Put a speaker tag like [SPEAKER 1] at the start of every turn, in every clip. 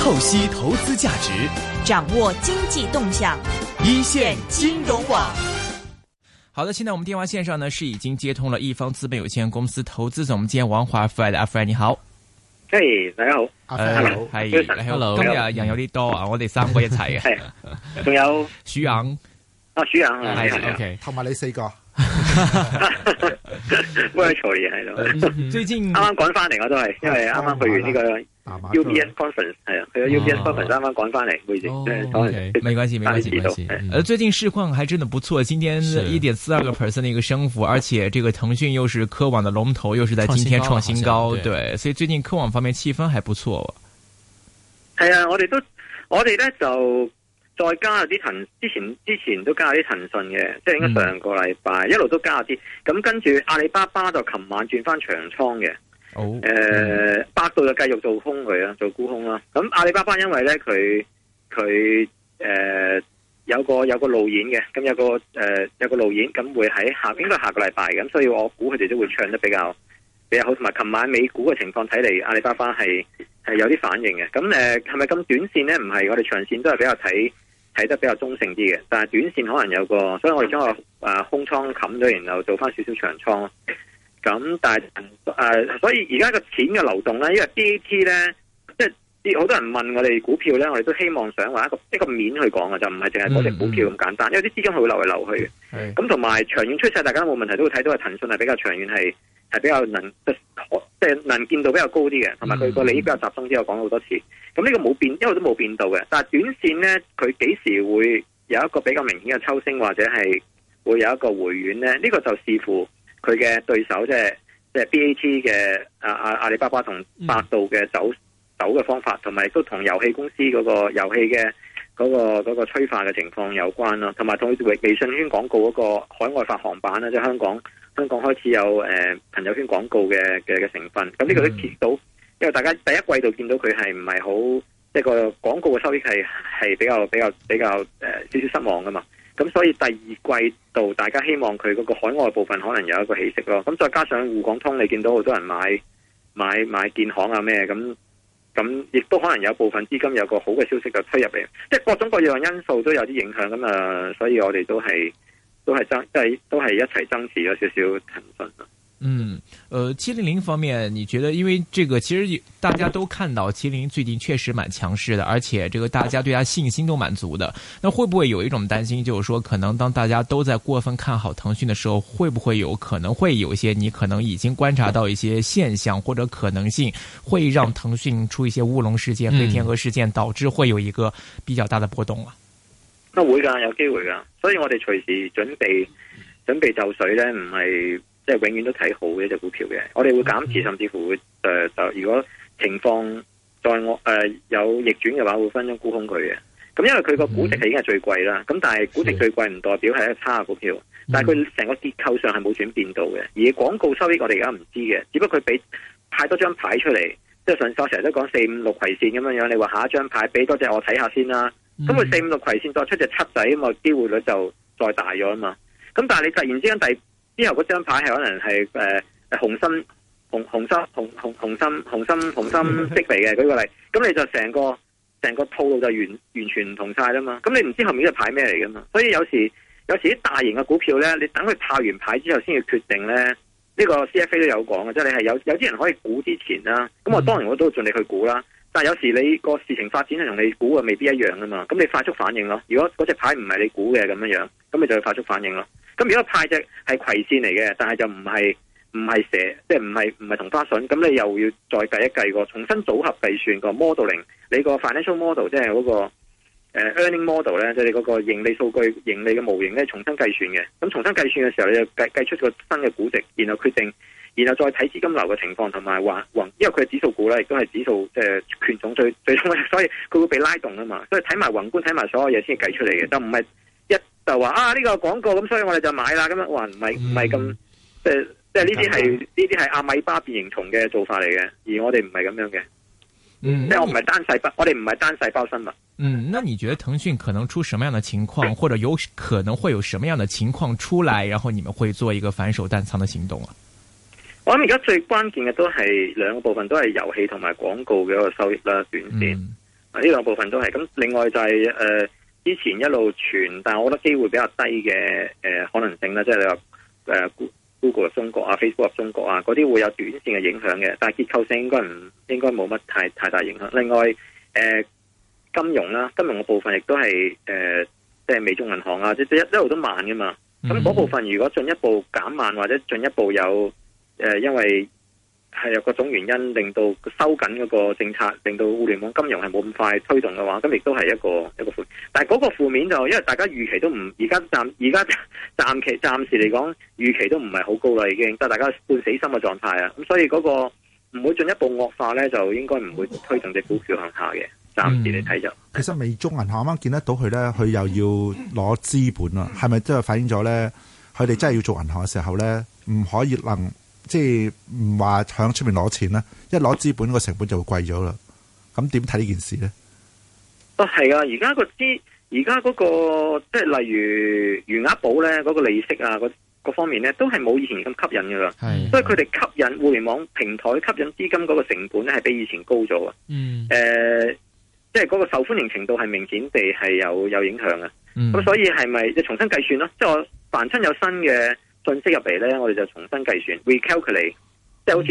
[SPEAKER 1] 透析投資價值，
[SPEAKER 2] 掌握經濟動向，
[SPEAKER 1] 一線金融網。
[SPEAKER 3] 好的，現在我們電話線上呢是已經接通了一方資本有限公司投資總監王華 Fred， 阿 Fred 你好。
[SPEAKER 4] 嘿，大家好。
[SPEAKER 3] Hello， 係 Hello， 今日人有啲多啊，我哋三個一齊嘅。
[SPEAKER 4] 仲有
[SPEAKER 3] 徐陽。
[SPEAKER 4] 徐陽係
[SPEAKER 3] OK，
[SPEAKER 5] 同埋你四個。
[SPEAKER 4] virtual 嘢喺度。
[SPEAKER 3] 最近
[SPEAKER 4] 啱啱趕翻嚟，我都係因為啱啱去完呢個 UBS conference， 係啊，去咗 UBS conference 啱啱趕翻嚟，會議。
[SPEAKER 3] 沒關係。最近市況還真的不錯，今天1.42% 的一個升幅，而且這個騰訊又是科網的龍頭，又是在今天創新高，對，所以最近科網方面氣氛還不錯。
[SPEAKER 4] 係啊，我哋咧就再加啲之前都加啲騰訊嘅，即係應該上個禮拜一路都加啲，咁跟住阿里巴巴就琴晚轉翻長倉嘅。百度就繼續做空佢啊，做沽空啦。咁阿里巴巴因為咧佢有個路演嘅，咁有個路演，咁會喺應該下個禮拜，咁所以我估佢哋都會唱得比較好。同埋琴晚美股嘅情況睇嚟，阿里巴巴係有啲反應嘅。咁係咪咁短線咧？唔係，我哋長線都係比較睇得比較中性啲嘅。但係短線可能有個，所以我哋將個空倉冚咗，然後做翻少少長倉。咁但係所以而家個錢嘅流動咧，因為 BAT 咧，即係好多人問我哋股票咧，我哋都希望想話一個面去講嘅，就唔係淨係嗰隻股票咁簡單，因為啲資金佢會流嚟流去嘅。咁同埋長遠趨勢，大家冇問題都會睇到係騰訊係比較長遠係比較即係能見度比較高啲嘅，同埋佢個利益比較集中啲，我講好多次。咁呢個冇變，一路都冇變到嘅。但係短線咧，佢幾時會有一個比較明顯嘅抽升，或者係會有一個回軟咧？呢個就視乎佢嘅對手，即係 BAT 嘅阿里巴巴同百度嘅走嘅方法，同埋都同遊戲公司嗰個遊戲嘅嗰個催化嘅情況有關咯，同埋同微信圈廣告嗰個海外發行版啦，即係香港開始有朋友圈廣告嘅成分。咁呢個都見到，因為大家第一季度見到佢係唔係好，即係個廣告嘅收益係比較少少失望噶嘛。咁所以第二季度大家希望佢嗰個海外部分可能有一個起色咯。咁再加上滬港通，你見到好多人買建行啊咩咁亦都可能有部分資金有個好嘅消息就推入嚟，即係各種各樣因素都有啲影響咁啊。所以我哋都係一齊增持咗少少騰訊。
[SPEAKER 3] 700方面，你覺得因為這個其實大家都看到700最近確實蠻強勢的，而且這個大家對它信心都蠻足的。那會不會有一種擔心，就是說可能當大家都在過分看好騰訊的時候，會不會有可能會有一些你可能已經觀察到一些現象或者可能性，會讓騰訊出一些烏龍事件、黑天鵝事件，導致會有一個比較大的波動啊？
[SPEAKER 4] 會㗎，有機會㗎，所以我哋隨時準備就緒咧，唔係即係永遠都睇好嘅一隻股票嘅。我哋會減持，甚至乎會就如果情況再有逆轉嘅話，會分鐘沽空佢嘅。咁因為佢個估值係已經係最貴啦，咁但係估值最貴唔代表係一個差嘅股票，但係佢成個結構上係冇轉變到嘅。而廣告收益我哋而家唔知嘅，只不過佢俾派多張牌出嚟，即係上次我成日都講4、5、6葵線咁樣樣，你話下一張牌俾多隻我睇下先啦。咁佢4、5、6葵線再出隻7仔咁啊，機會率就再大咗啊嘛。咁但係你突然之間之後嗰張牌係可能係紅心色嚟嘅，舉個例，咁你就成個套路就完全唔同晒啦嘛。咁你唔知後面隻牌咩嚟噶嘛？所以有時啲大型嘅股票咧，你等佢炮完牌之後先要決定咧。呢個 CFA 都有講嘅，即係你係有啲人可以估之前啦。咁我當然我都盡力去估啦。但係有時你個事情發展係同你估嘅未必一樣噶嘛。咁你快速反應咯。如果嗰隻牌唔係你估嘅咁樣，咁你就要快速反應咯。咁如果派隻係葵線嚟嘅，但係就唔係蛇，即係唔係同花順，咁你又要再計一計個重新組合計算個 modeling， 你個 financial model 即係嗰個earning model 咧，即係你嗰個盈利數據、盈利嘅模型咧，重新計算嘅。咁重新計算嘅時候，你就計出個新嘅估值，然後決定，然後再睇資金流嘅情況同埋因為佢係指數股咧，亦都係指數即係權重最終，所以佢會被拉動啊嘛。所以睇埋宏觀，睇埋所有嘢先計出嚟嘅，就唔係就話呢個廣告咁，所以我哋就買啦。咁樣話唔係咁，即係呢啲係阿米巴變形蟲嘅做法嚟嘅，而我哋唔係咁樣嘅。即係我唔係單細胞，我哋唔係單細胞生物。
[SPEAKER 3] 那你覺得騰訊可能出什麼樣的情況，或者有可能會有什麼樣的情況出來，然後你們會做一個反手淡倉的行動啊？
[SPEAKER 4] 我諗而家最關鍵嘅都係兩個部分，都係遊戲同埋廣告嘅一個收益啦，短線。 呢兩部分都係。咁另外就係之前一路傳，但係我覺得機會比較低嘅可能性啦，即係你話Google 入中國啊、Facebook 入中國啊，嗰啲會有短線嘅影響嘅，但係結構性應該冇乜太大影響。另外金融啦，金融嘅部分亦都係即係微眾銀行啊，即係一路都慢噶嘛。咁嗰部分如果進一步減慢或者進一步有因為係有各種原因令到收緊嗰個政策，令到互聯網金融係冇咁快推動嘅話，咁亦都係一個負。但係嗰個負面就因為大家預期都唔而家暫時嚟講預期都唔係好高啦，已經得大家半死心嘅狀態啊。咁所以嗰個唔會進一步惡化咧，就應該唔會推動隻股票向下嘅。暫時嚟睇就。
[SPEAKER 5] 其實微眾銀行啱啱見得到佢咧，佢又要攞資本啦，係咪即係反映咗咧？佢哋真係要做銀行嘅時候咧，唔可以即係唔話響出面攞錢啦，一攞資本個成本就會貴咗啦。咁點睇呢件事咧？係噶，而家嗰個即係例如餘額寶咧，嗰個利息啊，各方面咧都係冇以前咁吸引噶啦。係，所以佢哋吸引互聯網平台吸引資金嗰個成本咧係比以前高咗啊。即係嗰個受歡迎程度係明顯地係有影響嘅。咁所以係咪即係重新計算咯？即係我凡親有新嘅信息入嚟咧，我哋就重新計算 recalculate， 即係好似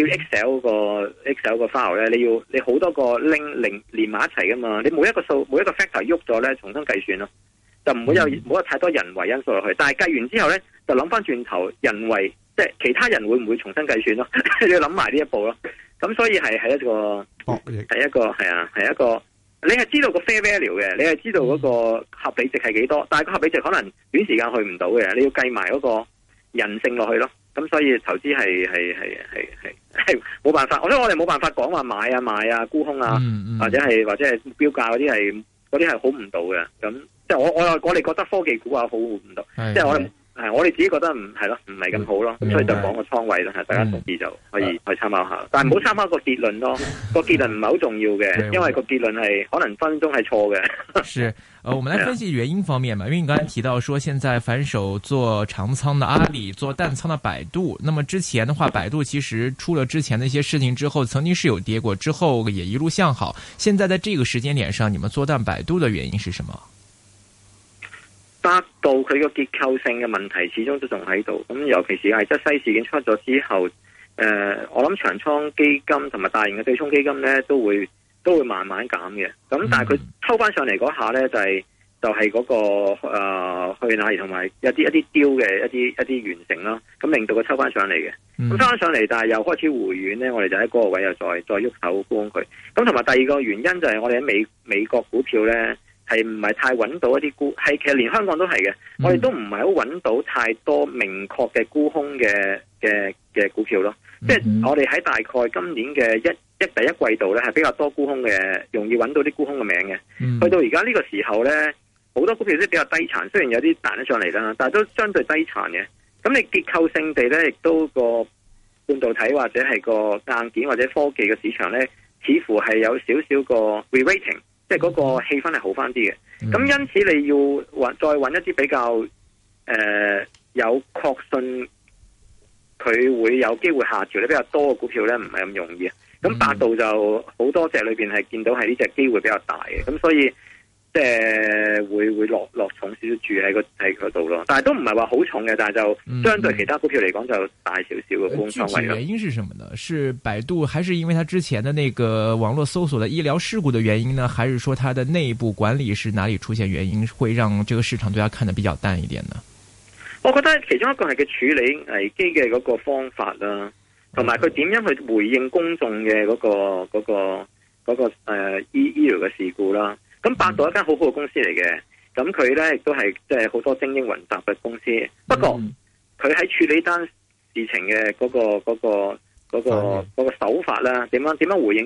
[SPEAKER 5] Excel 個 file 咧，你好多個 link 連埋一齊噶嘛，你每一個 factor 喐咗咧，重新計算咯，就唔會冇太多人為因素落去。但係計完之後咧，就諗翻轉頭人為，即係其他人會唔會重新計算咯？你要諗埋呢一步咯。咁所以係一個係一個。你係知道個 fair value 嘅，你係知道嗰個合理值係幾多，但係個合理值可能短時間去唔到嘅，你要計埋嗰個人性落去咯。咁所以投資係冇辦法，所以我哋冇辦法講話買啊賣啊沽空啊，或者係目標價嗰啲係好唔到嘅。咁即係我哋覺得科技股啊好唔到，即係我哋自己覺得唔係咁好咯。咁所以就講個倉位啦，大家同意就可以去參考下。但係唔好參考個結論咯，個結論唔係好重要嘅，因為個結論係可能分鐘係錯嘅。
[SPEAKER 3] 是，我們來分析原因方面嘛，因為你剛才提到說，現在反手做長倉的阿里，做淡倉的百度。那麼之前的話，百度其實出了之前的一些事情之後，曾經是有跌過，之後也一路向好。現在在這個時間點上，你們做淡百度的原因是什麼？
[SPEAKER 4] 百度佢個結構性嘅問題始終都仲喺度，咁尤其是係即西事件出咗之後，我諗長倉基金同埋大型嘅對沖基金咧都會慢慢減嘅，咁但係佢抽翻上嚟嗰下咧就係嗰個去哪兒同埋一啲雕嘅一啲完成啦，咁令到佢抽翻上嚟嘅，咁抽翻上嚟但係又開始回軟咧，我哋就喺嗰個位又再喐手沽佢，咁同埋第二個原因就係我哋喺美國股票咧。係唔係太揾到一啲其實連香港都係嘅，我哋都唔係好揾到太多明確嘅沽空嘅股票咯。即係我哋喺大概今年嘅第一季度咧，係比較多沽空嘅，容易揾到啲沽空嘅名嘅。去到而家呢個時候咧，好多股票都比較低殘，雖然有啲彈得上嚟啦，但係都相對低殘嘅。咁你結構性地咧，亦都個半導體或者係個硬件或者科技嘅市場咧，似乎係有少少個 re-rating。即係嗰個氣氛係好翻啲嘅，咁因此你要再揾一啲比較有確信佢會有機會下調咧比較多嘅股票咧，唔係咁容易。咁百度就好多隻裏邊係見到係呢隻機會比較大嘅，咁所以即係會落重少少住喺嗰度咯。但係都唔係話好重嘅，但係就相對其他股票嚟講就大少少嘅沽倉位咯。
[SPEAKER 3] 原因是什麼呢？是百度還是因為它之前的那個網絡搜索的醫療事故的原因呢？還是說它的內部管理是哪裡出現原因，會讓這個市場對它看得比較淡一點呢？
[SPEAKER 4] 我覺得其中一個係佢處理危機嘅嗰個方法啦，同埋佢點樣去回應公眾嘅嗰個醫療嘅事故啦。咁百度一間好好嘅公司嚟嘅，咁佢咧亦都係即係好多精英雲集嘅公司。不過佢喺處理單事情嘅嗰個手法啦，點樣回應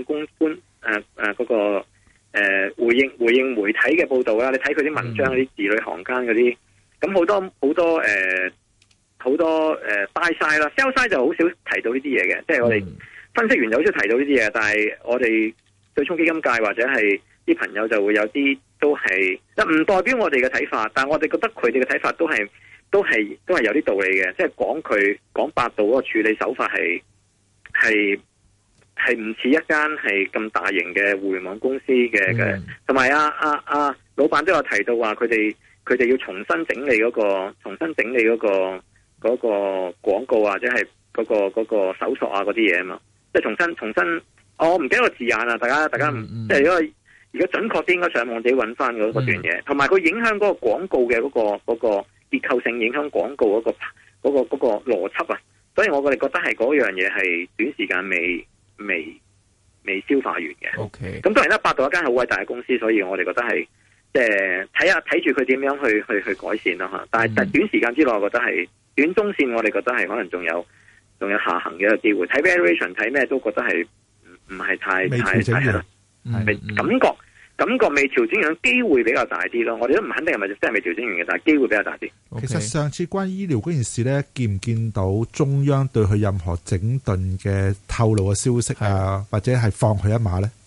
[SPEAKER 4] 回應媒體嘅報道啦？你睇佢啲文章嗰啲字裏行間嗰啲，咁好多buy side 啦 ，sell side 就好少提到呢啲嘢嘅，即係我哋分析員就好少提到呢啲嘢，但係我哋對沖基金界或者係啲朋友就會有啲都係，唔代表我哋嘅睇法，但係我哋覺得佢哋嘅睇法都係有啲道理嘅，即係講百度嗰個處理手法係係唔似一間係咁大型嘅互聯網公司嘅，同埋老闆都有提到話佢哋要重新整理嗰個廣告或者係嗰個搜索啊嗰啲嘢啊嘛，即係重新，我唔記得個字眼啦，大家即係如果準確啲應該上網自己揾翻嗰段嘢，同埋佢影響嗰個廣告嘅嗰個結構性影響廣告嗰個邏輯啊，所以我哋覺得係嗰樣嘢係短時間未消化完嘅。
[SPEAKER 3] OK，
[SPEAKER 4] 咁當然啦，百度一間好偉大嘅公司，所以我哋覺得係即係睇住佢點樣去改善啦吓。但係短時間之內，我覺得係短中線，我哋覺得係可能仲有下行嘅一個機會。睇 valuation 睇咩都覺得係唔係太感覺未調整完，機會比較大啲咯。我哋都唔肯定係咪真係未調整完嘅，但係機會比較大啲。
[SPEAKER 5] 其實上次關於醫療嗰件事咧，見唔見到中央對佢任何整頓嘅透露嘅消息啊，或者係放佢一馬咧？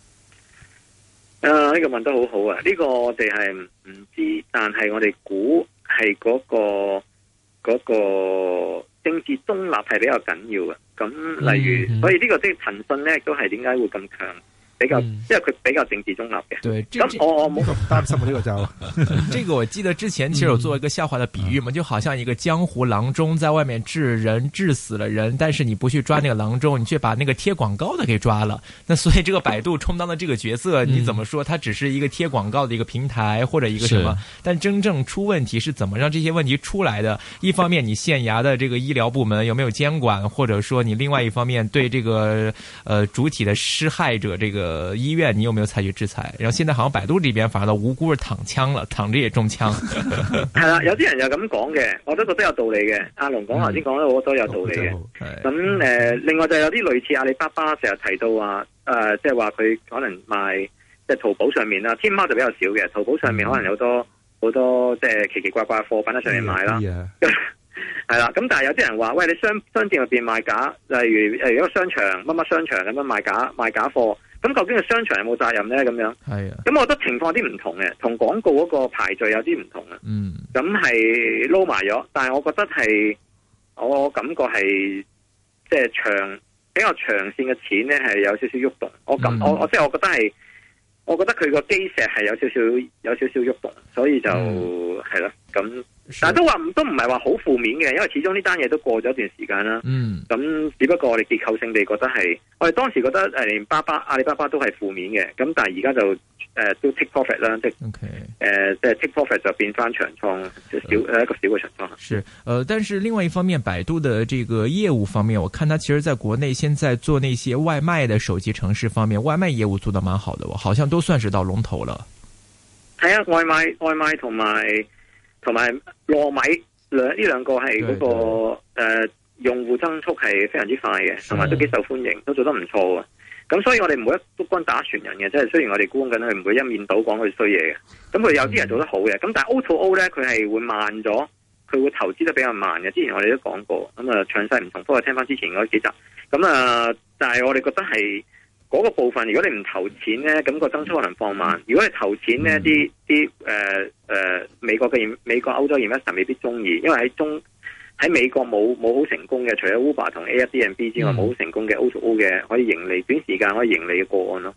[SPEAKER 5] 呢個問得好好啊！呢個我哋係唔知，但係我哋估係嗰個政治中立係比較緊要嘅。咁例如，所以呢個即係騰訊咧，都係點解會咁強？比較，因為佢比較政治中立嘅。
[SPEAKER 3] 對，
[SPEAKER 4] 咁我冇咁
[SPEAKER 5] 擔心呢個就。
[SPEAKER 3] 這個我記得之前其實有做一個笑話的比喻嘛，就好像一個江湖郎中在外面治人，治死了人，但是你不去抓那個郎中，你卻把那個貼廣告的給抓了。那所以這個百度充當的這個角色，你怎麼說？它只是一個貼廣告的一個平台或者一個什麼？但真正出問題是怎麼讓這些問題出來的？一方面你縣衙的這個醫療部門有沒有監管，或者說你另外一方面對這個主體的施害者這個醫院你有沒有採取制裁？然後現在好像百度這邊反而無辜是躺槍了，躺着也中槍。
[SPEAKER 4] 係啦，有啲人又咁講嘅，我都覺得有道理嘅。阿龍講頭先講得好多有道理嘅。咁另外就有啲類似阿里巴巴成日提到話，即係話佢可能賣即係淘寶上面啦，天貓就比較少嘅。淘寶上面可能有好多即係奇奇怪怪嘅貨品喺上面賣啦。係啦，咁但係有啲人話，喂，你商店入邊賣假，例如一個商場乜乜商場咁樣賣假貨。咁究竟個商場有冇責任咧？咁樣係啊，咁我覺得情況有啲唔同嘅，同廣告嗰個排序有啲唔同啊。咁係撈埋咗，但係我覺得係，我感覺係即係比較長線嘅錢咧，係有少少喐動。我即係我覺得係，我覺得佢個基石係有少少喐動，所以就係咯咁。但係都唔係話好負面嘅，因為始終呢單嘢都過咗一段時間啦。咁只不過我哋結構性地覺得係，我哋當時覺得連阿里巴巴都係負面嘅，咁但係而家就都 take profit 啦，即係 take profit 就變翻長倉，一個小嘅長倉。
[SPEAKER 3] 是，但是另外一方面，百度的這個業務方面，我看它其實在國內現在做那些外賣的手機城市方面，外賣業務做得蠻好的，好像都算是到龍頭了。
[SPEAKER 4] 係啊，外賣同埋糯米呢兩個係嗰個用戶增速係非常之快嘅，同埋都幾受歡迎，都做得唔錯嘅。咁所以我哋唔會一竿打船人嘅，即係雖然我哋估緊佢唔會一面倒講佢衰嘢嘅。咁佢有啲人做得好嘅，咁但係 O2O 咧佢係會慢咗，佢會投資得比較慢嘅。之前我哋都講過，咁啊詳細唔同，不過聽翻之前嗰幾集。咁但係我哋覺得係嗰個部分，如果你唔投錢咧，咁個增速可能放慢。如果你投錢咧，啲美國歐洲 investor 未必中意，因為喺美國冇好成功嘅，除咗 Uber 同 Airbnb 之外，冇好成功嘅 O2O 嘅可以盈利，短時間可以盈利嘅個案咯。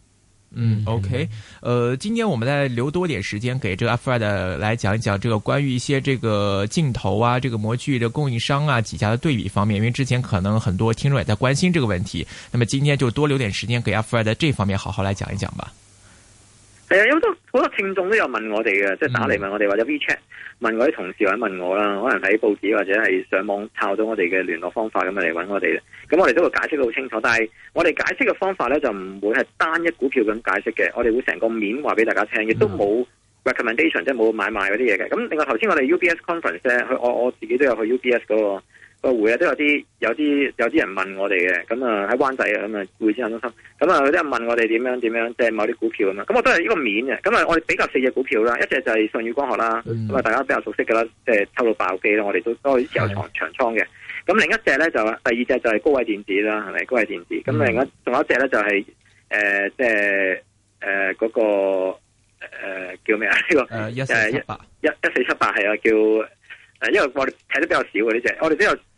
[SPEAKER 3] OK，今天我們再留多點時間給這個 Alfred 來講一講這個關於一些這個鏡頭啊，這個模具的供應商啊幾家的對比方面，因為之前可能很多聽眾也在關心這個問題，那麼今天就多留點時間給 Alfred 這方面好好來講一講吧。
[SPEAKER 4] 係啊，有好多聽眾都有問我哋嘅，即係打嚟問我哋或者 WeChat 問我啲同事或者問我啦，可能喺報紙或者係上網抄到我哋嘅聯絡方法咁嚟揾我哋嘅，咁我哋都會解釋得好清楚。但係我哋解釋嘅方法咧就唔會係單一股票咁解釋嘅，我哋會成個面話俾大家聽，亦都冇 recommendation 即係冇買賣嗰啲嘢嘅。咁另外頭先我哋 UBS conference 咧，我自己都有去 UBS 嗰個會啊，都有啲人問我哋嘅，咁啊喺灣仔啊，咁啊會展中心，咁啊有啲人問我哋點樣即係某啲股票啊嘛，咁我都係呢個面嘅，咁啊我哋比較4隻股票啦，一隻就係舜宇光學啦，咁啊大家比較熟悉嘅啦，即係抽到爆機啦，我哋都持有長倉嘅，咁另一隻咧就第二隻就係高偉電子啦，係咪高偉電子？咁另外仲有一隻咧就係即係嗰個叫咩啊？呢個1478係啊，叫因為我哋睇得比較少嘅呢隻，我哋都有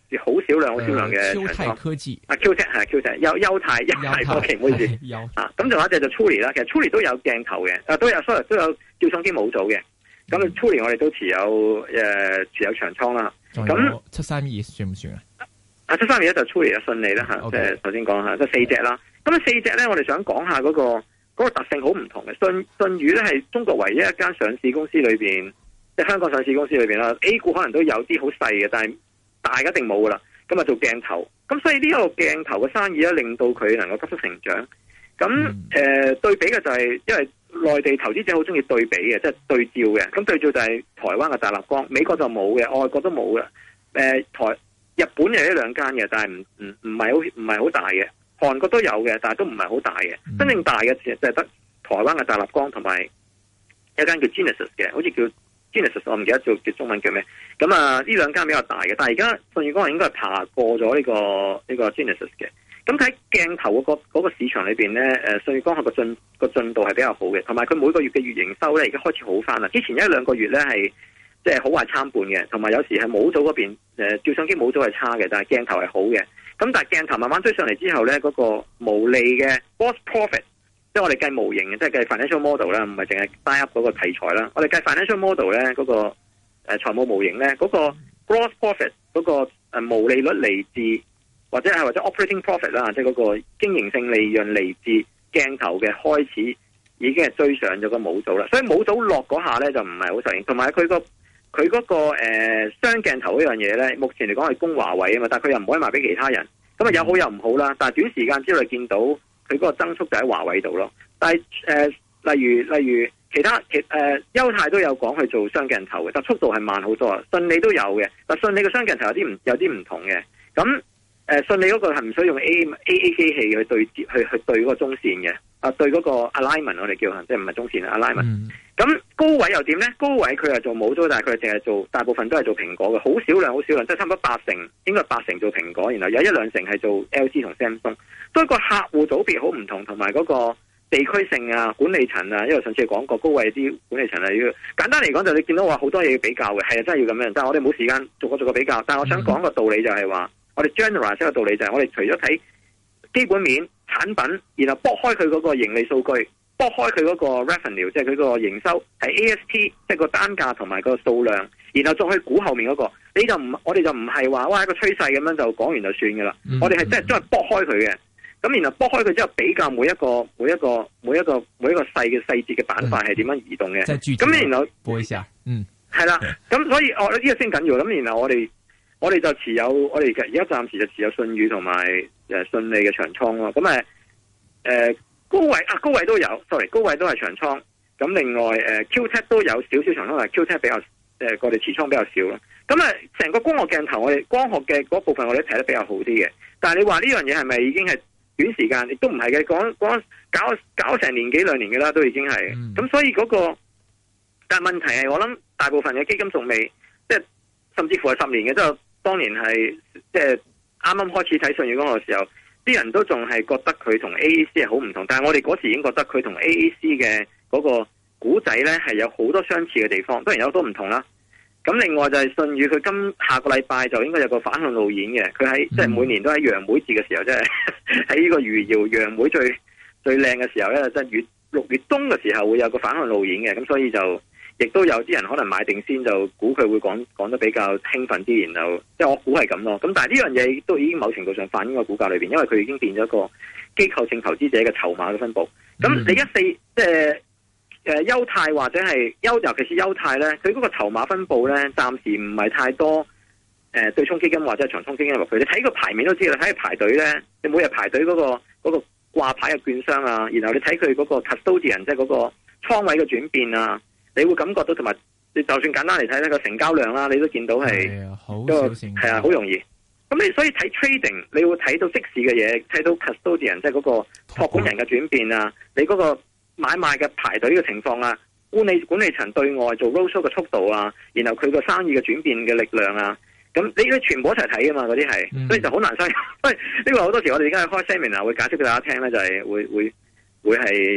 [SPEAKER 4] 好少量嘅長倉。
[SPEAKER 3] 丘鈦科技
[SPEAKER 4] QTech 係 QTech，優泰科技，唔好意思。咁仲有一隻就 Truly 啦，其實 Truly 都有鏡頭嘅，都有照相機模組嘅。咁 Truly 我哋都持有長倉啦。咁
[SPEAKER 3] 732算唔算啊
[SPEAKER 4] ？731就 Truly 順利啦嚇，即係頭先講下，即係4隻啦。咁4隻咧，我哋想講下嗰個特性好唔同嘅。舜宇咧係中國唯一一間上市公司裏邊，即係香港上市公司裏邊啦。A 股可能都有啲好細嘅，但係大一定冇噶啦。咁啊做鏡頭，咁所以呢個鏡頭嘅生意咧，令到佢能夠急速成長。咁對比嘅就係，因為內地投資者好中意對比嘅，即係對照嘅。咁對照就係台灣嘅大立光，美國就冇嘅，外國都冇嘅。日本有一兩間嘅，但係唔係好大嘅。韓國都有嘅，但係都唔係好大嘅。真正大嘅就係得台灣嘅大立光同埋一間叫 Genesis 嘅，好似叫 Genesis， 我唔記得叫中文叫咩。咁呢兩間比較大嘅，但係而家舜宇光學應該係爬過咗呢個 Genesis 嘅。咁睇鏡頭嗰個市場裏邊咧，舜宇光學個進度係比較好嘅，同埋佢每個月嘅月營收咧，而家開始好翻啦。之前1-2個月咧係即係好壞參半嘅，同埋有時係模組嗰邊照相機模組係差嘅，但係鏡頭係好嘅。咁但係鏡頭慢慢追上嚟之後咧，嗰個毛利嘅 gross profit， 即係我哋計模型嘅，即係計 financial model 啦，唔係淨係 buy up 嗰個題材啦。我哋計 financial model 咧，嗰個財務模型咧，嗰個 gross profit 嗰個毛利率嚟自或者 operating profit 啦，即係嗰個經營性利潤嚟自鏡頭嘅開始已經係追上咗個模組啦。所以模組落嗰下咧就唔係好實現，同埋佢嗰個雙鏡頭嗰樣嘢咧，目前嚟講係供華為啊嘛，但係佢又唔可以賣俾其他人，咁啊有好有唔好啦。但係短時間之內見到佢嗰個增速就喺華為度咯。但係例如其他優泰都有講去做雙鏡頭嘅，但速度係慢好多啊。信利都有嘅，但信利嘅雙鏡頭有啲唔同嘅。咁信利嗰個係唔需要用 AA 機器去對接去對嗰個中線嘅，對嗰個 alignment 我哋叫即係唔係中線 alignment。咁高位又點咧？高位佢係做模組，但係佢淨係做大部分都係做蘋果嘅，好少量，即係差唔多80%，應該係80%做蘋果，然後有1-2成係做 LG 同 Samsung。所以個客戶組別好唔同，同埋嗰個地區性啊、管理層啊，因為上次講過高位啲管理層啊，要簡單嚟講就你見到話好多嘢要比較嘅，係啊，真係要咁樣。但係我哋冇時間逐個比較。但係我想講個道理就係話，我哋 generalize 個道理就係我哋除咗睇基本面產品，然後剝開佢嗰個盈利數據。剝開佢嗰個 revenue， 即係佢個營收係 ASP， 即係個單價同埋個數量，然後再去估後面嗰個，我哋就唔係話哇一個趨勢咁樣就講完就算噶啦。我哋係真係剝開佢嘅，咁然後剝開佢之後比較每一個細節嘅板塊係點樣移動嘅。咁然後
[SPEAKER 3] 播一下，
[SPEAKER 4] 係啦。咁所以呢個先緊要。咁然後我哋就持有，我哋而家暫時就持有舜宇同埋信利嘅長倉咯。咁高位都有 ，sorry， 高位都係長倉。咁另外QTech 都有少少長倉，但係 QTech 比較我哋持倉比較少咯。咁成個光學鏡頭，我哋光學嘅嗰部分我哋睇得比較好啲嘅。但係你話呢樣嘢係咪已經係短時間？亦都唔係嘅，講搞成年幾兩年嘅啦，都已經係。咁所以但係問題係我諗大部分嘅基金仲未，即係甚至乎係10年嘅，即係當年係即係啱啱開始睇舜宇光學嘅時候。啲人都仲係覺得佢同 AAC 係好唔同，但係我哋嗰時已經覺得佢同 AAC 嘅嗰個故仔咧係有好多相似嘅地方，當然有好多唔同啦。咁另外就係舜宇，佢下個禮拜就應該有個反向路演嘅，佢喺即係每年都喺楊梅節嘅時候，即係喺呢個餘姚楊梅最靚嘅時候咧，即係6月中嘅時候會有個反向路演嘅，咁所以就亦都有啲人可能買定先，就估佢會講得比較興奮啲，然後即係我估係咁咯。咁但係呢樣嘢都已經某程度上反映個股價裏邊，因為佢已經變咗一個機構性投資者嘅籌碼嘅分佈。咁你即係優泰或者係尤其是優泰咧，佢嗰個籌碼分佈咧，暫時唔係太多對沖基金或者係長倉基金落去。你睇個牌面都知啦，睇佢排隊咧，你每日排隊嗰個掛牌嘅券商啊，然後你睇佢嗰個 custodian 即係嗰個倉位嘅轉變啊。你會感覺到，同埋你就算簡單嚟睇呢個成交量啦，你都見到係係啊，好容易。咁你所以睇 trading， 你會睇到即時嘅嘢，睇到 custodian 即係嗰個託管人嘅轉變啊，你嗰個買賣嘅排隊嘅情況啊，管理層對外做 roadshow 嘅速度啊，然後佢個生意嘅轉變嘅力量啊，咁你全部一齊睇啊嘛，嗰啲係，所以就好難相信。所以呢個好多時我哋而家開 seminar 會解釋俾大家聽咧，就係會係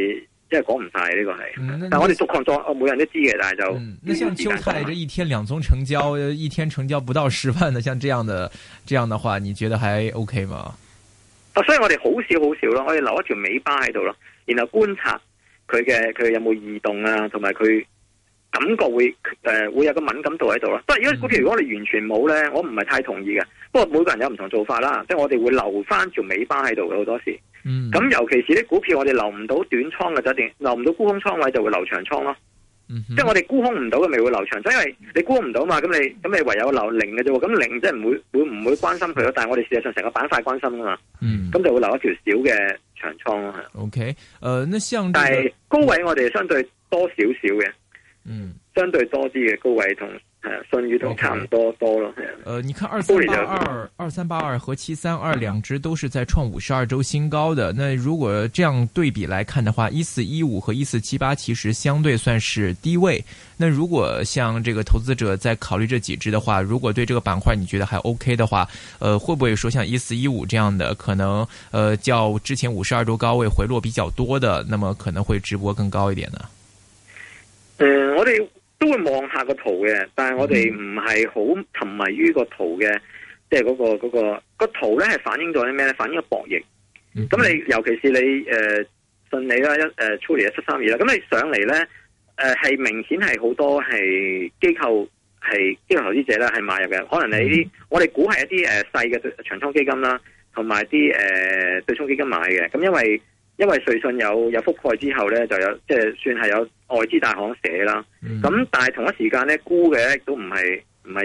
[SPEAKER 4] 即係講唔晒呢個係。但係我哋逐項作，每人都知嘅，但係就
[SPEAKER 3] 那像秋菜這一天2宗成交，一天成交不到10萬的，像這樣的話，你覺得還 OK 嗎？
[SPEAKER 4] 所以我哋好少咯，我哋留一條尾巴喺度咯，然後觀察佢有冇異動啊，同埋佢感覺會有個敏感度喺度咯。不過如果股票如果你完全冇咧，我唔係太同意嘅。不過每個人有唔同做法啦，即係我哋會留翻條尾巴喺度嘅好多時。咁尤其是啲股票我哋留唔到短倉嘅，就一定留唔到沽空倉位就會留長倉咯。即係我哋沽空唔到嘅咪會留長倉，因為你沽唔到嘛，咁你唯有留零嘅啫喎。咁零即係唔會關心佢咯。但係我哋事實上成個板塊關心噶嘛。咁就會留一條小嘅長倉咯。
[SPEAKER 3] OK，那像
[SPEAKER 4] 但係高位我哋相對多少少嘅，相對多啲嘅高位同信譽都差唔多咯。
[SPEAKER 3] 你看2382和732兩隻都是在創52周新高的。那如果這樣對比來看的話，1415和1478其實相對算是低位。那如果像這個投資者在考慮這幾隻的話，如果對這個板塊你覺得還 OK 的話，會不會說像1415這樣的可能較之前52周高位回落比較多的，那麼可能會直播更高一點呢？
[SPEAKER 4] 我哋都會望下個圖嘅，但係我哋唔係好沉迷於個圖嘅，即係嗰個圖咧係反映咗啲咩咧？反映咗博弈。咁你尤其是你順利啦出嚟732啦，咁你上嚟咧係明顯係好多係機構投資者咧係買入嘅，可能你啲我哋估係一啲細嘅長倉基金啦，同埋啲對沖基金買嘅。咁因為瑞信有覆蓋之後咧，就有即係算係有外資大行寫啦。咁但係同一時間咧沽嘅都唔係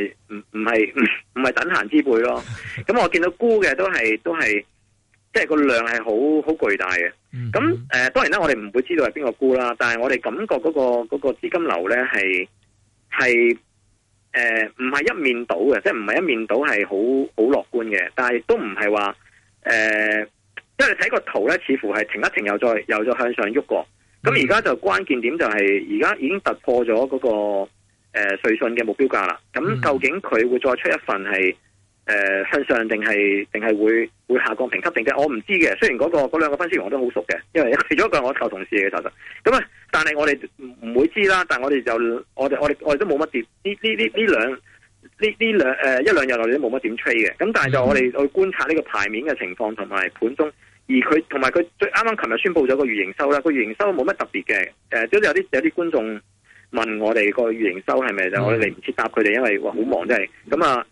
[SPEAKER 4] 等閒之輩咯。咁我見到沽嘅都係即係個量係好巨大嘅。咁當然啦，我哋唔會知道係邊個沽啦，但係我哋感覺嗰個資金流咧係唔係一面倒嘅，即係唔係一面倒係好樂觀嘅，但係都唔係話因為你睇個圖咧，似乎係停一停又再向上喐過。咁而家就關鍵點就係而家已經突破咗嗰個瑞信嘅目標價啦。咁究竟佢會再出一份係向上定係會下降評級定嘅？我唔知嘅。雖然嗰兩個分析員我都好熟嘅，因為其中一個係我舊同事嘅，其實咁啊。但係我哋唔會知啦。但係我哋都冇乜點一兩日我哋都冇乜點 trade 嘅。咁但係就我哋去觀察呢個牌面嘅情況同埋盤中。而佢同埋佢最啱啱琴日宣布咗個月營收啦，個月營收冇乜特別嘅，都有啲觀眾問我哋個月營收係咪就我哋嚟唔切答佢哋，因為好忙真係。咁啊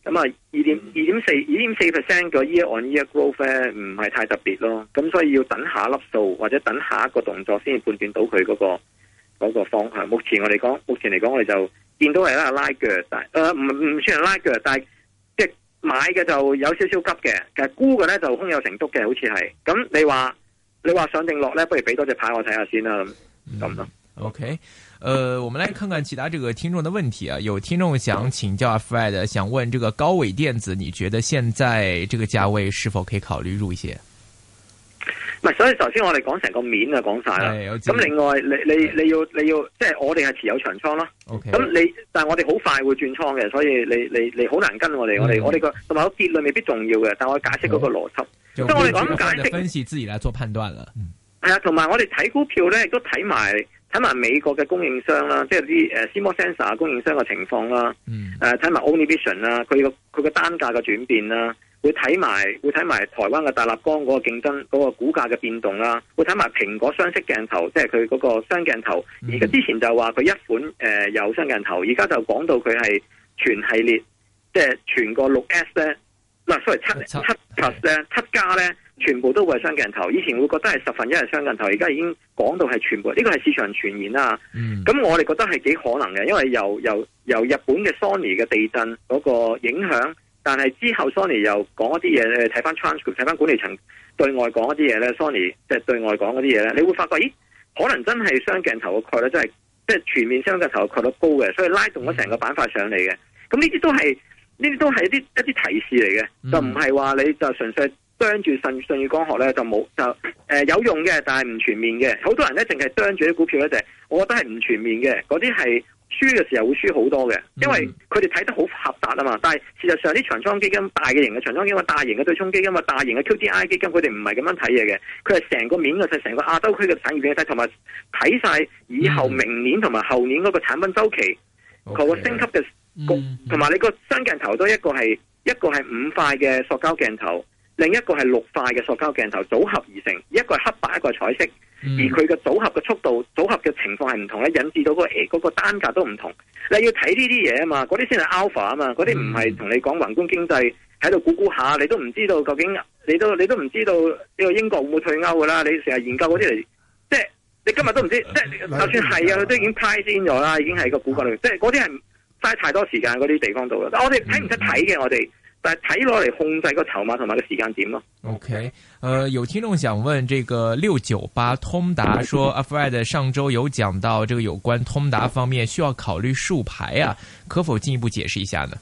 [SPEAKER 4] 2.4% 個 year on year growth 咧唔係太特別咯，咁所以要等下粒數或者等下一個動作先至判斷到佢嗰個方向。目前嚟講我哋就見到係拉鋸，但唔算係拉鋸，但係即係買嘅就有少少急嘅，其實沽嘅咧就空有成竹嘅，好似係。咁你話上定落咧，不如俾多隻牌我睇下先啦，咁咯。
[SPEAKER 3] OK，我們來看看其他這個聽眾的問題啊。有聽眾想請教阿 Fred， 想問這個高偉電子，你覺得現在這個價位是否可以考慮入一些？
[SPEAKER 4] 唔係，所以頭先我哋講成個面就講晒啦。咁另外你要，即係我哋係持有長倉咯。
[SPEAKER 3] OK。
[SPEAKER 4] 咁但係我哋好快會轉倉嘅，所以你好難跟我哋。我哋個同埋個結論未必重要嘅，但我解釋嗰個邏輯。即係我哋講解釋
[SPEAKER 3] 分析自己來做判斷啦。
[SPEAKER 4] 係啊，同埋我哋睇股票咧，亦都睇埋美國嘅供應商啦，即係啲CMOS sensor 供應商嘅情況啦。睇埋 Onivision 啦，佢個單價嘅轉變啦。會睇埋台灣嘅大立光嗰個競爭嗰個股價嘅變動啦，會睇埋蘋果雙色鏡頭，即係佢嗰個雙鏡頭。而家之前就話佢一款有雙鏡頭，而家就講到佢係全系列，即係全個6S 咧，7 Plus 咧，7加咧，全部都會係雙鏡頭。以前會覺得係1/10係雙鏡頭，而家已經講到係全部。呢個係市場傳言啦。咁我哋覺得係幾可能嘅，因為由日本嘅 Sony 嘅地震嗰個影響。但係之後 Sony 又講一啲嘢，睇翻 transcript， 睇翻管理層對外講一啲嘢咧 ，Sony 即係對外講嗰啲嘢咧，你會發覺，咦，可能真係雙鏡頭嘅概率真係即係全面雙鏡頭嘅概率高嘅，所以拉動咗成個板塊上嚟嘅。咁呢啲都係一啲提示嚟嘅，就唔係話你就純粹啄住舜宇光學咧就冇有用嘅，但係唔全面嘅。好多人咧淨係啄住啲股票咧，就係我覺得係唔全面嘅，嗰啲係輸嘅時候會輸好多嘅，因為佢哋睇得好狹窄啊嘛。但係事實上啲長倉基金、大嘅型嘅長倉基金、大型嘅對沖基金、大型嘅 QDII 基金，佢哋唔係咁樣睇嘢嘅，佢係成個面嘅，成個亞洲區嘅產業鏈睇，同埋睇晒以後明年同埋後年嗰個產品周期，佢個升級嘅同埋你個雙鏡頭都一個係5塊嘅塑膠鏡頭，另一個係6塊嘅塑膠鏡頭組合而成，一個係黑白，一個係彩色。而佢嘅組合嘅速度、組合嘅情況係唔同咧，引致到嗰個單價都唔同。你要睇呢啲嘢啊嘛，嗰啲先係 alpha 啊嘛，嗰啲唔係同你講宏觀經濟喺度估下，你都唔知道究竟你都唔知道呢個英國會唔會退歐噶啦？你成日研究嗰啲嚟，即係你今日都唔知，即係就算係啊，佢都已經 price in 咗啦，已經係個股價裏，即係嗰啲係嘥太多時間嗰啲地方度啦。但我哋睇唔識睇嘅，我哋。但係睇落嚟控制個籌碼同埋個時間點咯。
[SPEAKER 3] OK，有聽眾想問，這個698通達說阿 Fred 上周有講到，這個有關通達方面需要考慮數牌啊，可否進一步解釋一下呢？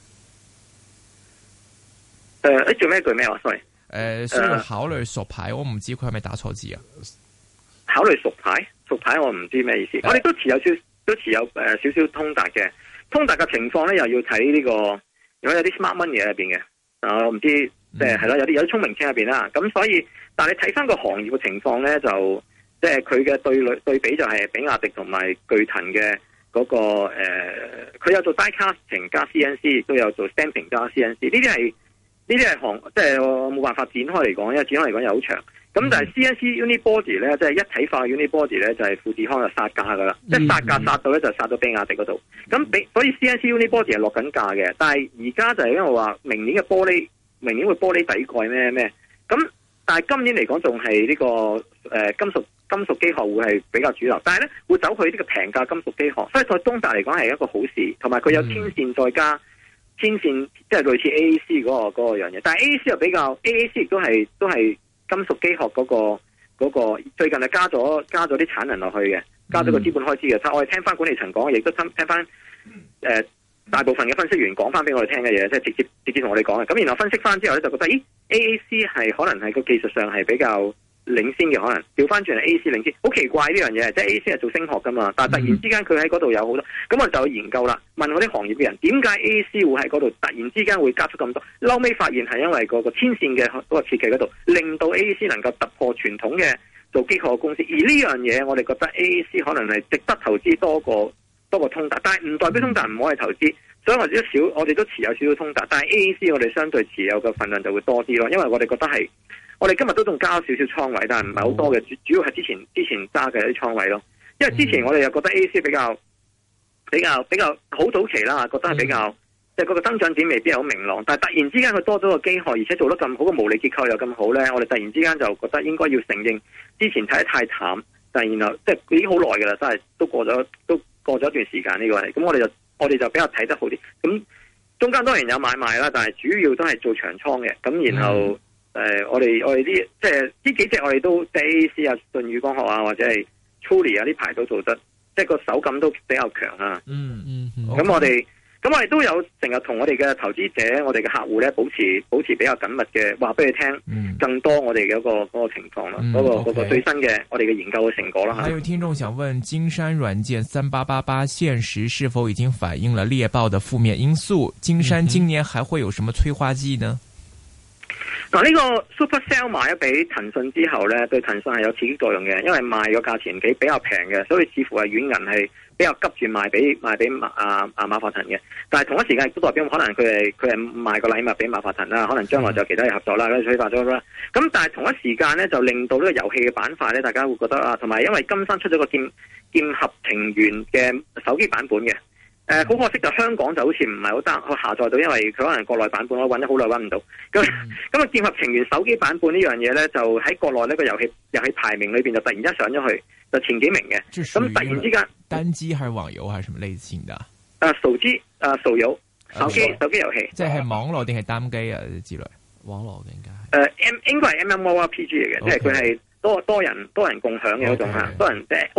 [SPEAKER 4] 做咩句咩話 ？sorry，
[SPEAKER 3] 需要考慮熟牌，我唔知佢係咪打錯字啊？
[SPEAKER 4] 考慮熟牌我唔知咩意思。我哋都持有少少通達嘅，通達嘅情況咧又要睇呢個。如果有啲 smart money 喺入邊嘅，我唔知即係係咯，有啲聰明錢入邊啦。咁所以，但係你睇翻個行業嘅情況咧，就即係佢嘅對比就係比亞迪同埋巨騰嘅嗰個佢有做 die casting 加 CNC， 亦都有做 stamping 加 CNC。呢啲係即係我冇辦法展開嚟講，因為展開嚟講又好長。咁但係 CNC Unibody 咧，即係一體化 Unibody 咧，就係富士康就殺價噶啦，即係殺價殺到咧就殺到比亞迪嗰度。咁所以 CNC Unibody 係落緊價嘅，但係而家就係因為話明年會玻璃底蓋咩咁，但係今年嚟講仲係呢個金屬機殼會係比較主流，但係咧會走去呢個平價金屬機殼，所以對東達嚟講係一個好事，同埋佢有天線再加天線，即係類似 AAC 嗰個樣嘢，但係 AAC 又比較 AAC 亦都係。金屬機殼嗰個最近係加咗啲產能落去嘅，加咗個資本開支嘅。我哋聽翻管理層講，亦都聽翻大部分嘅分析員講翻俾我哋聽嘅嘢，即係直接同我哋講嘅。咁然後分析翻之後咧，就覺得AAC 係可能係個技術上係比較領先嘅，可能調翻轉係 AAC 領先，好奇怪呢樣嘢，即係 AAC 係做聲學噶嘛，但係突然之間佢喺嗰度有好多，咁我就去研究啦，問嗰啲行業嘅人，點解 AAC 會喺嗰度突然之間會加速咁多？後尾發現係因為嗰個天線嘅嗰個設計嗰度，令到 AAC 能夠突破傳統嘅做機構嘅公司，而呢樣嘢我哋覺得 AAC 可能係值得投資多過通達，但係唔代表通達唔可以投資，所以我哋都持有少少通達，但係 AAC 我哋相對持有嘅份量就會多啲咯，因為我哋覺得係。我哋今日都仲加少少倉位，但係唔係好多嘅，主要係之前揸嘅一啲倉位咯。因為之前我哋又覺得 AAC 比較好早期啦，覺得係比較即係嗰個增長點未必係好明朗。但係突然之間佢多咗個機殼，而且做得咁好，個毛利結構又咁好咧，我哋突然之間就覺得應該要承認之前睇得太淡，但係然後即係已經好耐㗎啦，真係都過咗一段時間呢個係。咁我哋就比較睇得好啲。咁中間當然有買賣啦，但係主要都係做長倉嘅。咁然後。我哋啲即係呢幾隻我哋都 AAC 啊、舜宇光學啊或者係 Truly 啊呢排都做得，即係個手感都比較強啊。咁我哋都有成日同我哋嘅投資者、我哋嘅客戶咧保持比較緊密嘅，話俾你聽更多我哋嘅嗰個情況啦，嗰個最新嘅我哋嘅研究嘅成果啦。
[SPEAKER 3] 還有聽眾想問，金山軟件3888現時是否已經反映了獵豹的負面因素？金山今年還會有什麼催化劑呢？
[SPEAKER 4] 嗱，呢個 Supercell 買咗俾騰訊之後咧，對騰訊係有刺激作用嘅，因為賣個價錢比較平嘅，所以似乎係軟銀係比較急住賣俾馬化騰嘅。但係同一時間亦都代表可能佢係賣個禮物俾馬化騰啦，可能將來就有其他嘢合作啦，催化咗啦。咁但係同一時間咧，就令到呢個遊戲嘅板塊咧，大家會覺得啊，同埋因為金山出咗個劍俠情緣嘅手機版本嘅。好可惜就香港就好似唔係好得去下載到，因為佢可能國內版本我揾咗好耐揾唔到。咁啊，劍俠情緣手機版本呢樣嘢咧，就喺國內呢個遊戲排名裏邊就突然間上咗去，就前幾名嘅。咁突然之間，單機還是網遊還是什麼類型的？手機手遊手機遊戲，
[SPEAKER 3] 即係網絡定係單機啊之類？網絡應該
[SPEAKER 4] 應該係 MMORPG 嚟嘅，即係佢係多人共享嘅嗰種嚇，多人即係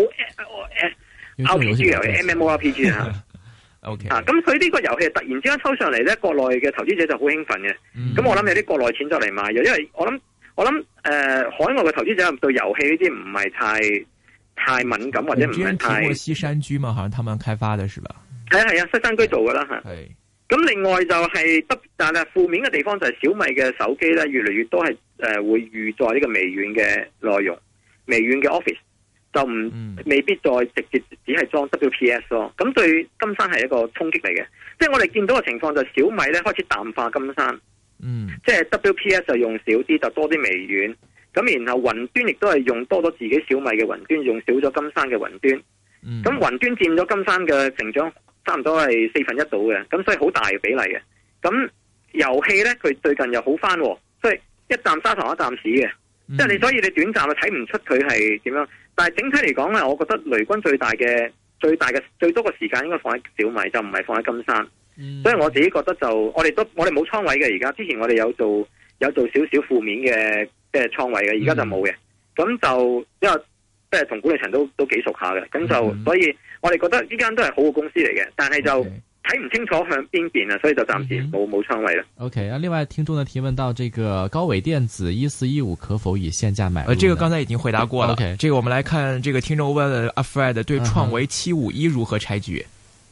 [SPEAKER 4] RPG 遊戲 MMORPG 嚇。
[SPEAKER 3] OK
[SPEAKER 4] 咁佢呢個遊戲突然之間抽上嚟咧，國內嘅投資者就好興奮嘅。咁我諗有啲國內錢就嚟買咗，因為我諗我諗海外嘅投資者對遊戲呢啲唔係太敏感或者唔係太。
[SPEAKER 3] 提過西山居嘛，好像他們開發的是吧？
[SPEAKER 4] 係啊，西山居做噶啦吓。
[SPEAKER 3] 係。
[SPEAKER 4] 咁另外就係但係負面嘅地方就係小米嘅手機咧，越嚟越多係會預載呢個微軟嘅內容，微軟嘅 Office 就未必再直接只係裝 WPS 咯。咁對金山係一個衝擊嚟嘅，即係我哋見到嘅情況就係小米咧開始淡化金山，即係 WPS 就用少啲，就多啲微軟。咁然後雲端亦都係用多咗自己小米嘅雲端，用少咗金山嘅雲端。咁雲端佔咗金山嘅成長差唔多係1/4度嘅，咁所以好大嘅比例嘅。咁遊戲咧佢最近又好翻，所以一啖砂糖一啖屎嘅，即係你所以你短暫就睇唔出佢係點樣。但係整體嚟講咧，我覺得雷軍最多嘅時間應該放喺小米，就唔係放喺金山。所以我自己覺得就我哋冇倉位嘅，而家之前我哋有做少少負面嘅即係倉位嘅，而家就冇嘅。咁就因為即係同管理層都幾熟下嘅，咁就所以我哋覺得呢間都係好嘅公司嚟嘅，但係就睇唔清楚向邊邊啊，所以就暫時冇倉位啦。
[SPEAKER 6] OK，另外聽眾呢提問到這個高偉電子1415可否以現價買入？
[SPEAKER 3] 這個剛才已經回答過了。
[SPEAKER 6] OK，
[SPEAKER 3] 這個我們來看，這個聽眾問阿 Fred 對創維751如何拆局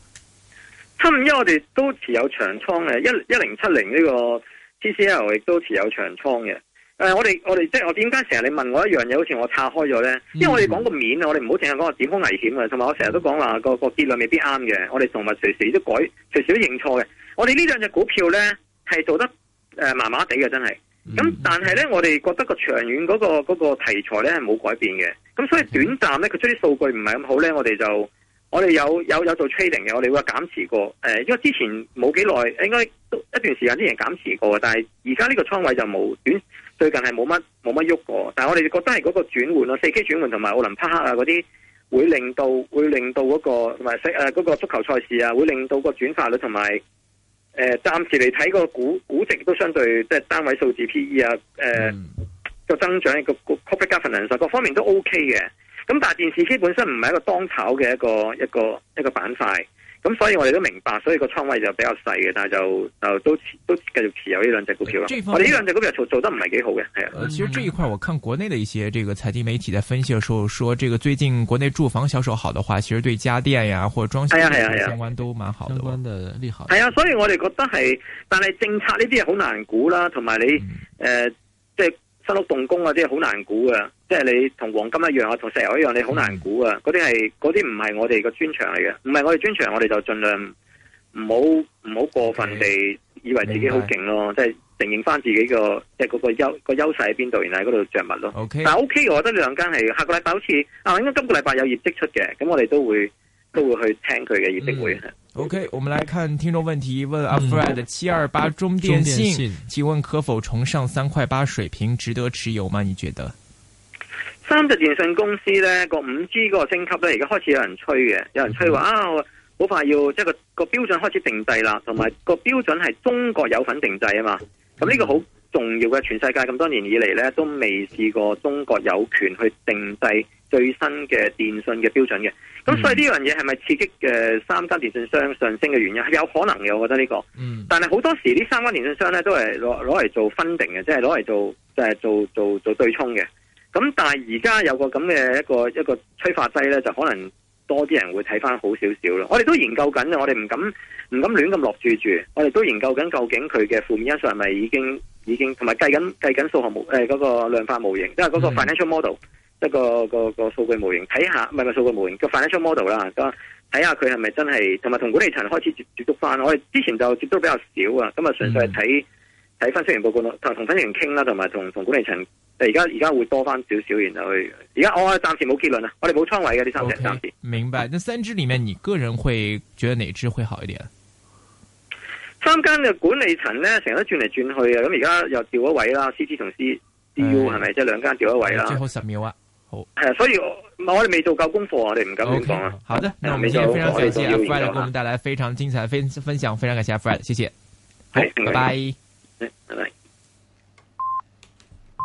[SPEAKER 4] ？751我哋都持有長倉嘅，1070呢個 TCL 亦都持有長倉嘅。我哋即係我點解成日你問我一樣嘢，好似我拆開咗咧？因為我哋講個面啊，我哋唔好淨係講個點好危險嘅，同埋我成日都講話個結論未必啱嘅。我哋同埋隨時都隨時都認錯嘅。我哋呢兩隻股票咧係做得麻麻地嘅，真係。咁但係咧，我哋覺得個長遠嗰個題材咧係冇改變嘅。咁所以短暫咧，佢出啲數據唔係咁好咧，我哋有做 trading 嘅，我哋會減持過。因為之前冇幾耐，應該都一段時間之前減持過，但係而家呢個倉位就冇最近係冇乜喐過。但係我哋覺得係嗰個轉換咯，4K 轉換同埋奧林匹克啊嗰啲會令到嗰個同埋嗰個足球賽事啊，會令到個轉化率同埋暫時嚟睇個估值都相對即係單位數字 PE 啊，個增長個 corporate governance 各方面都 OK 嘅。咁但係電視機本身唔係一個當炒嘅一個板塊，咁所以我哋都明白，所以個倉位就比較細嘅，但係就都繼續持有呢兩隻股票咯。我哋呢兩隻股票做得唔係幾好嘅，係啊。
[SPEAKER 3] 其實這一塊我看國內的一些這個財經媒體在分析的時候說，這個最近國內住房銷售好的話，其實對家電呀或者裝修相關都蠻好的，
[SPEAKER 6] 相關的利好。
[SPEAKER 4] 係啊，所以我哋覺得係，但係政策呢啲係好難估啦，同埋你即係新屋動工啊，啲係好難估嘅。即係你同黃金一樣啊，同石油一樣，你好難估啊！嗰啲唔係我哋個專長嚟嘅，唔係我哋專長，我哋就盡量唔好過分地以為自己好勁咯，即係承認翻自己個即係嗰個優勢喺邊度，然後喺嗰度着墨咯。
[SPEAKER 3] Okay.
[SPEAKER 4] 但係 OK，我覺得呢兩間係下個禮拜好似應該今個禮拜有業績出嘅，咁我哋都會去聽佢嘅業績會。
[SPEAKER 3] OK， 我們來看聽眾問題，問阿 Fred 728中電信，請問可否重上3.8水平，值得持有嗎？你覺得？
[SPEAKER 4] 三隻電信公司咧個 5G 嗰個升級咧，而家開始有人吹嘅，有人吹話好快要即係個標準開始定制啦，同埋個標準係中國有份定制啊嘛。咁呢個好重要嘅，全世界咁多年以嚟咧都未試過中國有權去定制最新嘅電信嘅標準嘅。咁所以呢樣嘢係咪刺激三間電信商上升嘅原因？係有可能嘅，我覺得呢個。但係好多時呢三間電信商咧都係攞嚟做分定嘅，即係攞嚟做對沖嘅。咁但係而家有個咁嘅一個催化劑咧，就可能多啲人會睇翻好少少咯。我哋都研究緊，我哋唔敢亂咁落注住。我哋都研究緊究竟佢嘅負面因素係咪已經同埋計緊數學嗰個量化模型，即係嗰個 financial model，即係個數據模型，睇下唔係數據模型個 financial model 啦，睇下佢係咪真係同埋同管理層開始接觸翻。我哋之前就接觸比較少啊，咁啊純粹係睇分析員報告同分析員傾啦，同埋同管理層。而家會多翻少少，然後去。而家我暫時冇結論啊，我哋冇倉位嘅呢三隻暫時。
[SPEAKER 3] 明白。那三隻裏面，你個人會覺得哪隻會好一點？
[SPEAKER 4] 三間嘅管理層咧，成日都轉嚟轉去啊。咁而家又調咗位啦，CT 同 CU 係咪？即係兩間調咗位啦。最
[SPEAKER 3] 後10秒啊，好。
[SPEAKER 4] 係啊，所以我哋未做夠功課，我哋唔敢亂講啊。
[SPEAKER 3] 好的，那我們今天非常感謝阿 Fred 給我們帶來非常精彩的分享，非常感謝阿 Fred，謝謝。好，拜拜。
[SPEAKER 4] 拜拜。